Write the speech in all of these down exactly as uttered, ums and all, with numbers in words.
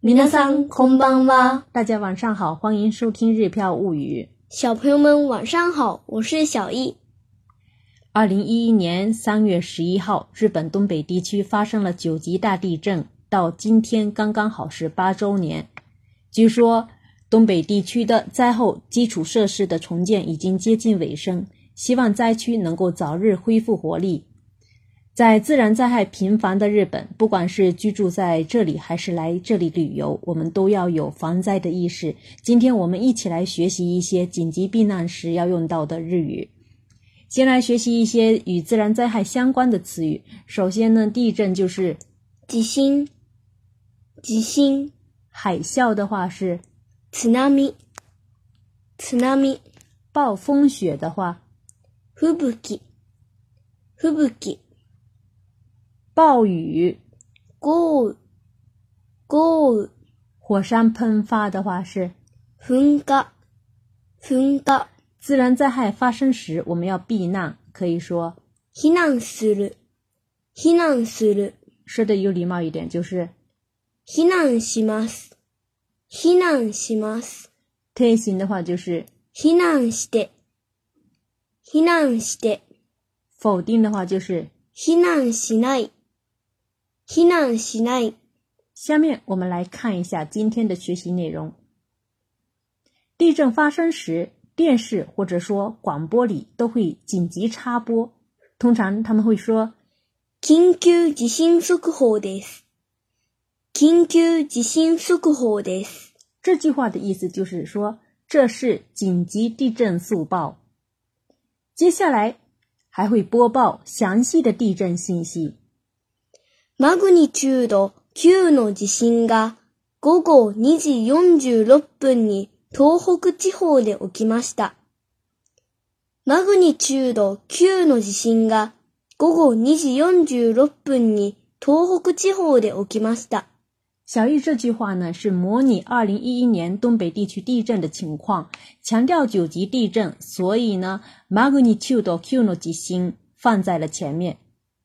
皆さんこんばんは。 大家晚上好，欢迎收听日飘物语。 小朋友们晚上好，我是小易。 二零一一年三月十一号，日本东北地区发生了九级大地震，到今天刚刚好是八周年。据说东北地区的灾后基础设施的重建已经接近尾声，希望灾区能够早日恢复活力。在自然灾害频繁的日本，不管是居住在这里还是来这里旅游，我们都要有防灾的意识。今天我们一起来学习一些紧急避难时要用到的日语。先来学习一些与自然灾害相关的词语。首先呢，地震就是地震，地震。 海啸的话是津波，津波。 暴风雪的话吹雪，吹雪。 暴雨豪雨，豪雨。 火山喷发的话是噴火，噴火。 自然灾害发生时我们要避难，可以说避難する，避難する。 说的有礼貌一点就是避難します，避難します。 推行的话就是避難して、避難して。 否定的话就是避難しない、避難しない。 下面我们来看一下今天的学习内容。地震发生时，电视或者说广播里都会紧急插播，通常他们会说緊急地震速報です。緊急地震速報です。 这句話的意思就是说这是紧急地震速报。接下来还会播报详细的地震信息。 マグニチュードきゅうの地震が午後にじよんじゅうろっぷんに東北地方で起きました。マグニチュードきゅうの地震が午後にじよんじゅうろっぷんに東北地方で起きました。 小易这句话呢是模拟二零一一年东北地区地震的情况，强调九级地震，所以呢マグニチュードきゅうの地震放在了前面。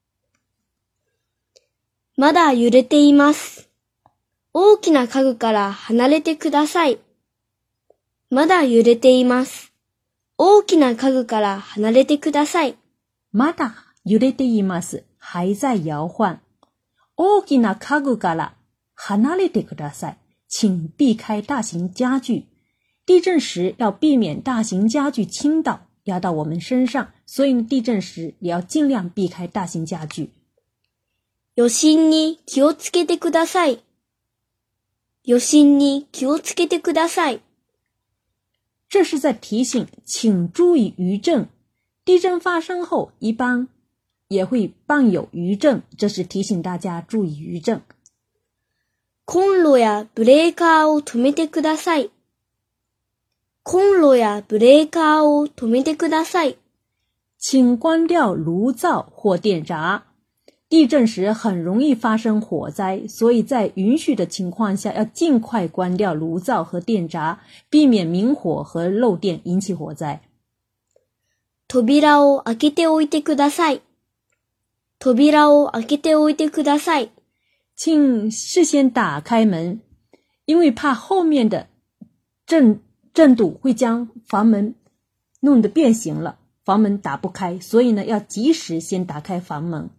まだ揺れています。大きな家具から離れてください。まだ揺れています。大きな家具から離れてください。 まだ揺れています。还在摇晃。大きな家具から離れてください。请避开大型家具。地震时要避免大型家具倾倒压到我们身上，所以地震时也要尽量避开大型家具。 余震に気をつけてください。余震に気をつけてください。 这是在提醒请注意余震。地震发生后一般也会伴有余震，这是提醒大家注意余震。 コンロやブレーカーを止めてください。コンロやブレーカーを止めてください。 请关掉炉灶或电闸。地震时很容易发生火灾，所以在允许的情况下要尽快关掉炉灶和电闸，避免明火和漏电引起火灾。 扉を開けておいてください。扉を開けておいてください。 请事先打开门，因为怕后面的震震度会将房门弄得变形了，房门打不开，所以呢要及时先打开房门。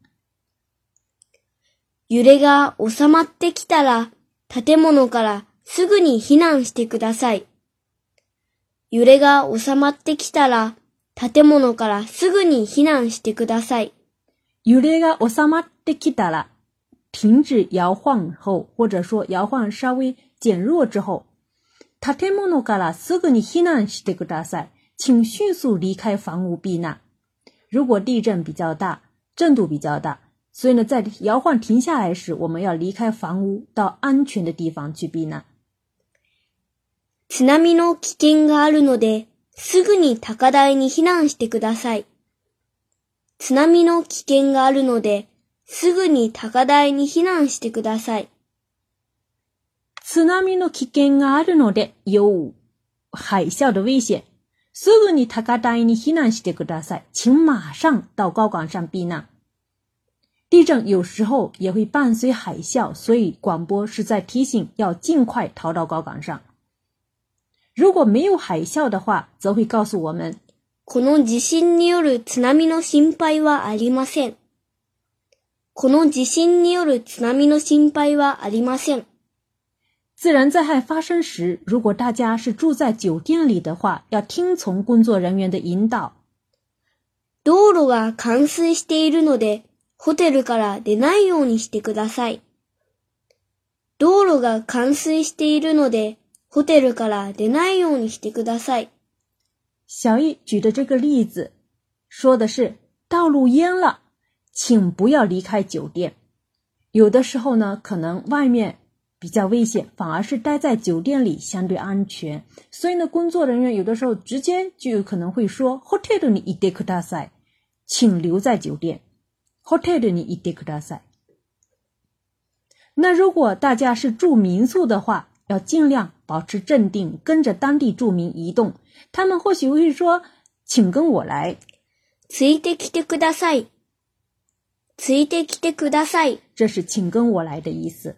揺れが収まってきたら、建物からすぐに避難してください。揺れが収まってきたら、建物からすぐに避難してください。 揺れが収まってきたら，停止摇晃后，或者说摇晃稍微减弱之后，建物からすぐに避難してください。请迅速离开房屋避难。如果地震比较大，震度比较大，所以呢，在摇晃停下来时，我们要离开房屋，到安全的地方去避难。 津波の危険があるので、すぐに高台に避難してください。津波の危険があるので、すぐに高台に避難してください。 津波の危険があるので、有海啸的危险。すぐに高台に避難してください。请马上到高岗上避难。 地震有时候也会伴随海啸，所以广播是在提醒要尽快逃到高岗上。如果没有海啸的话，则会告诉我们， この地震による津波の心配はありません。この地震による津波の心配はありません。 自然灾害发生时，如果大家是住在酒店里的话，要听从工作人员的引导。 道路が冠水しているので、ホテルから出ないようにしてください。道路が冠水しているので、ホテルから出ないようにしてください。 小易举的这个例子，说的是道路淹了，请不要离开酒店。有的时候呢，可能外面比较危险，反而是待在酒店里相对安全。所以呢，工作人员有的时候直接就有可能会说 hotel にいてください，请留在酒店。hotel にいてください。那如果大家是住民宿的话，要尽量保持镇定，跟着当地住民移动。他们或许会说，请跟我来。 ついてきてください。ついてきてください。 这是请跟我来的意思。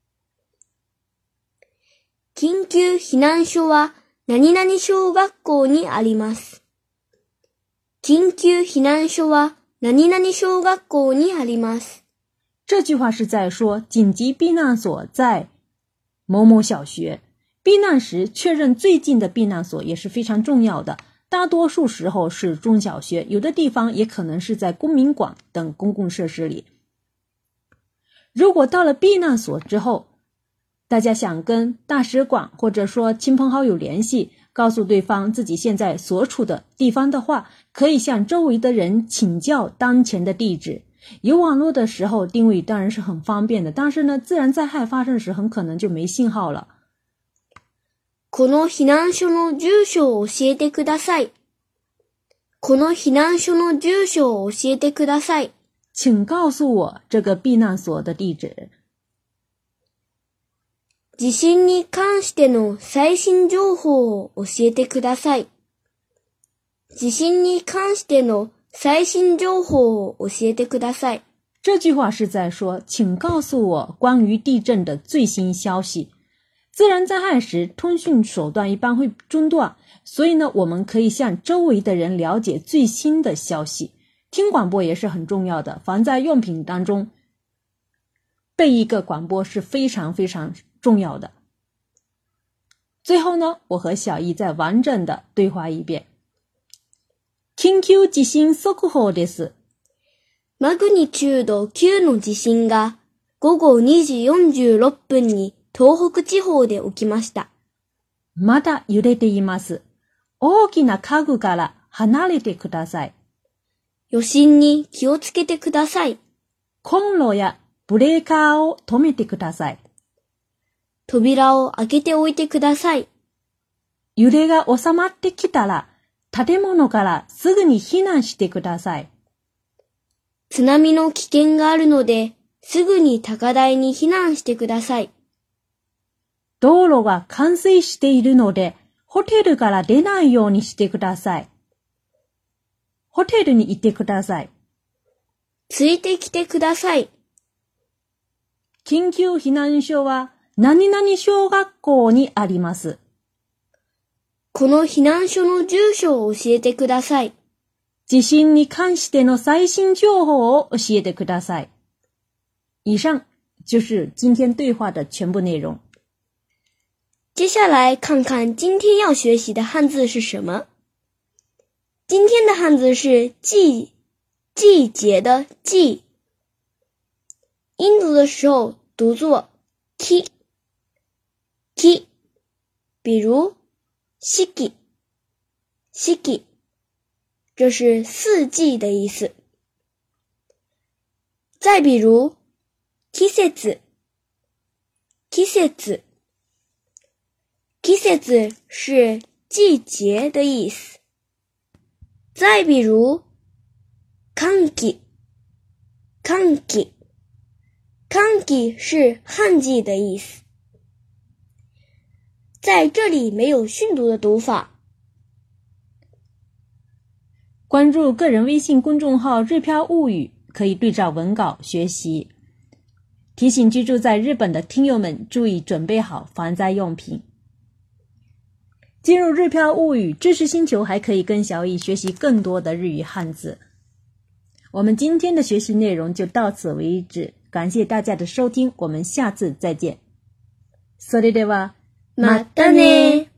緊急避難所は何々小学校にあります。緊急避難所は何々小学校にあります。 这句话是在说紧急避难所在某某小学。避难时确认最近的避难所也是非常重要的，大多数时候是中小学，有的地方也可能是在公民馆等公共设施里。如果到了避难所之后，大家想跟大使馆或者说亲朋好友联系，告诉对方自己现在所处的地方的话，可以向周围的人请教当前的地址。有网络的时候定位当然是很方便的，但是呢，自然灾害发生时很可能就没信号了。 この避難所の住所を教えてください。この避難所の住所を教えてください。 请告诉我这个避難所的地址。 地震に関しての最新情報を教えてください。地震に関しての最新情報を教えてください。 这句话是在说，请告诉我关于地震的最新消息。自然灾害时，通讯手段一般会中断，所以呢，我们可以向周围的人了解最新的消息。听广播也是很重要的，防灾用品当中备一个广播是非常非常重要的。最后呢，我和小易再完整的对话一遍。緊急地震速報です。 マグニチュードきゅうの地震が午後にじよんじゅうろっぷんに東北地方で起きました。 まだ揺れています。大きな家具から離れてください。 余震に気をつけてください。 コンロやブレーカーを止めてください。 扉を開けておいてください。 揺れが収まってきたら、建物からすぐに避難してください。 津波の危険があるので、すぐに高台に避難してください。 道路が冠水しているので、ホテルから出ないようにしてください。ホテルにいてください。 ついてきてください。 緊急避難所は何々小学校にあります。 この避難所の住所を教えてください。 地震に関しての最新情報を教えてください。以上就是今天对话的全部内容。 接下来看看今天要学习的汉字是什么。今天的汉字是季，季节的季。音读的时候读作 ki ki， 比如四季四季，这是四季的意思。再比如季節季節季節是季节的意思。再比如寒季寒季寒季是旱季的意思。在这里没有训读的读法。 关注个人微信公众号日漂物语， 可以对照文稿学习。提醒居住在日本的听友们注意准备好防灾用品。进入日漂物语知识星球，还可以跟小易学习更多的日语汉字。我们今天的学习内容就到此为止，感谢大家的收听，我们下次再见。それでは、 またね。